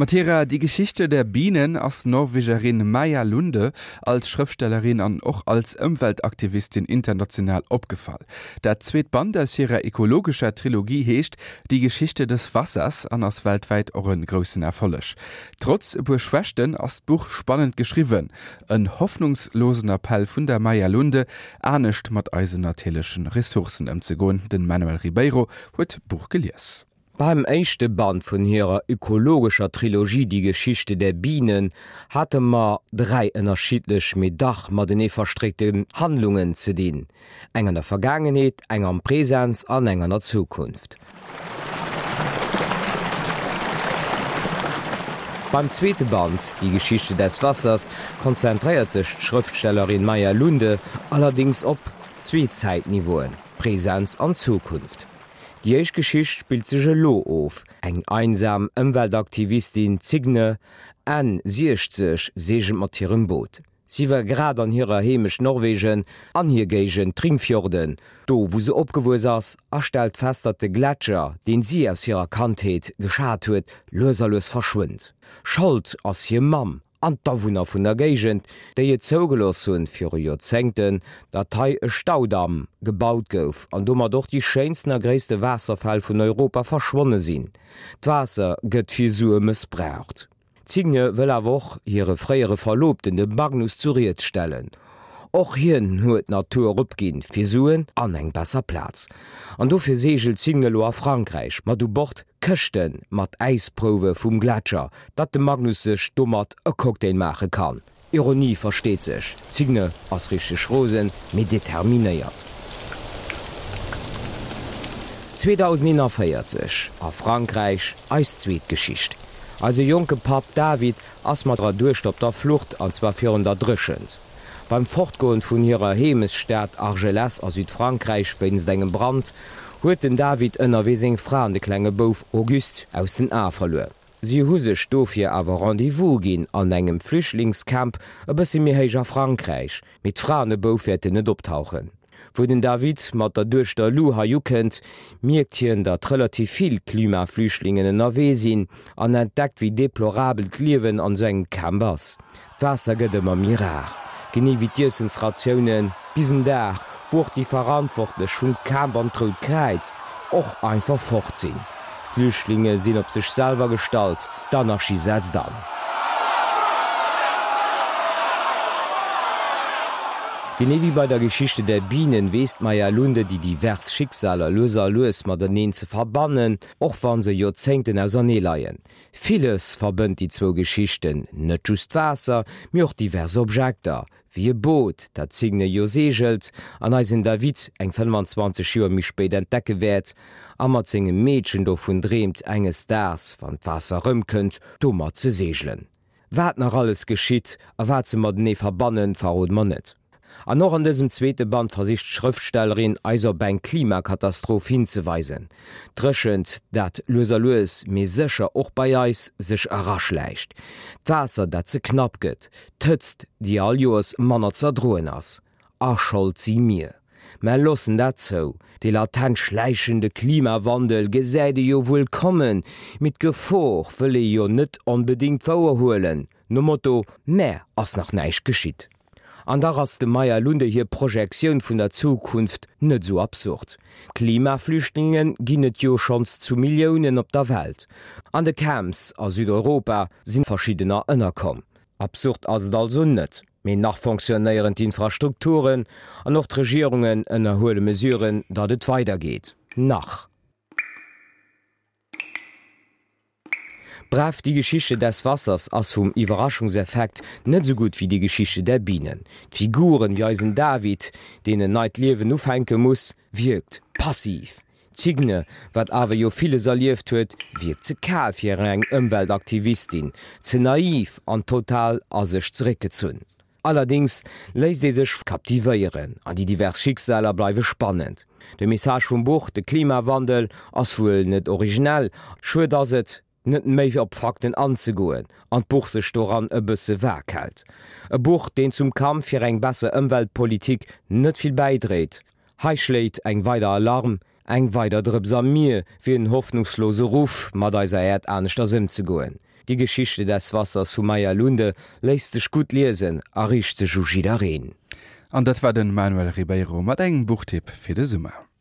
Matera, die Geschichte der Bienen als Norwegerin Maja Lunde als Schriftstellerin und auch als Umweltaktivistin international aufgefallen. Der zweite Band aus ihrer ökologischer Trilogie heißt Die Geschichte des Wassers an als weltweit auch einen großen Erfolg. Trotz Überschwächten ist das Buch spannend geschrieben. Ein hoffnungslosen Appell von der Maja Lunde, ernst mit unseren natürlichen Ressourcen umzugehen. Den Manuel Ribeiro hat das Buch gelesen. Beim ersten Band von ihrer ökologischer Trilogie Die Geschichte der Bienen hatte man 3 unterschiedlich mit Dach mit den verstrickten Handlungen zu dienen. Eng an der Vergangenheit, eng am Präsenz, an eng an der Zukunft. Beim zweiten Band, Die Geschichte des Wassers, konzentriert sich die Schriftstellerin Maja Lunde allerdings auf 2 Zeitniveauen, Präsenz und Zukunft. Die erste Geschichte spielt sich lo auf. Eng einsam Umweltaktivistin Signe an 60 segelt mit ihrem Boot. Sie war gerade an ihrer heimisch Norwegen, an hier gegen Tringfjorden. Do, wo sie abgewusst ist, stellt fest, dass der Gletscher, den sie aus ihrer Kantheit geschaut hat, löserlos verschwindet. Schuld ist ihr Mam, an d'Awohner vun der Gegend, déi je zougelos hunn fir Jozenten, dat hei e Staudamm gebaut gouf, an dommer doch die scheinsten a gréisste Wasserfall vun Europa verschwonne sinn. D'Wasser gëtt fir Sue missbraucht. Zigne will awoch hire fréiere Verlobten de Magnus zuriert stellen. Och hien huet Natur opginn fir Suen an eng besser Platz. An dofir segelt Zingelo a Frankreich, mat du bord Köchten mat Eisprowe vum Gletscher, dat de Magnus sech dommert e Cocktail mache kann. Ironie versteht sech, Zigne ass richch Rosen mit determinéiert. 2041 a Frankreich Eiszweetgeschicht. Also junge Pap David ass mat Durchstopp der Flucht anzwa 400 Drschend. Beim Fortgoen vun ihrer Hemesstadt Argelès a Südfrankreich wennns engem Brand, huet den David ënner wesing Fra de klenge Bouf August aus den A verloe. Sie huse stofir awer Rendevous ginn an engem Flüchtlingscamp e bësse mir héiger Frankreich, mit Frane Boufäte net optauchen. Wo den David mat der duerch der Luha jukend, mirgt hien dat relativ viel Klimaflüchtlingen ënnerwee sinn an entdeckt wie deplorabel d'Liewen an seg Campers. D'Wasser gëtt ëmmer mir rar. Genie wie Diersens Rationioen, bisen der, woch die verantwortlech vun Kambern trot kreiz, och einfach fortsinn. Flüchtlinge sinn op sech selber stalt, d'Anarchie setzt dann. Genie wie bei der Geschichte der Bienen weest Maja Lunde die divers Schicksaler loser loes mat den ze verbannen, och wann se Jozenten aus an leien. Vieles verbënnt die 2 Geschichten, net just Wasser, mir och divers Objekter, wie e Boot, dat Zigne jo segelt, an eisen David eng 25 Joer mich spéit entdecke wäert, a mat zinggem Mädchen do vun dreemt enges Dars van d'Wasser rëmkënnt, dommer ze segelen. Wat nach alles geschitt, a wat ze mat nee verbannen verrot man net. An noch an diesem zweite Band versicht Schriftstellerin eiser beim Klimakatastroph hinzuweisen. Drschend, dat loser loes me secher och bei Eis sech rasch leicht. D'Wasser, dat ze knapp gëtt, tëtzt die all Joes Manner zerdroen ass. Schuld sie mir. Me lossen dat zo, de latent schleichende Klimawandel gesäide jo wohl kommen, mit Gefor wëlle jo net unbedingt verurholen. No Motto, mehr ass nach neich geschitt. An der ass de Maja Lunde hier Projektioun vun der Zukunft net so absurd. Klimaflüchtlingen ginnet jo schons zu Millioen op der Welt. An de Camps a Südeuropa sinn verschiedener ënnerkom. Absurd ass also net. Mei nach funktionéierend Infrastrukturen an noch Regierungen ënnerhole Mesuren, dat et weitergeht. Nach. Bref die Geschichte des Wassers ass vum Iwerraschungseffekt net so gut wie die Geschichte der Bienen. Figuren wie eisen David, denen neit Liewen ufhänke muss, wirkt passiv. Zigne, wat awer jo vieles erlieft huet, wirkt ze kal fir eng Umweltaktivistin, ze naiv an total as sech zurückgezunn. Allerdings lässt sie sich kaptivieren, an die divers Schicksaler bleibe spannend. De Message vum Buch, de Klimawandel, ass wohl net originell, schwur das et, net méi op Fakten anzugoen, an Buch sech doran e bësse werk hält. E Buch, den zum Kampf fir eng besser Umweltpolitik net viel beidreht. Hei schläit eng weider Alarm, eng weider Drëbs an mir, fir en hoffnungslose Ruf mat eiser Erd ernstchter Sinn zu goen. Die Geschichte des Wassers vu Maya Lunde lässt sich gut lesen, a rich ze Jujidarin. An dat war den Manuel Ribeiro mat engem Buchtipp fir de Summer.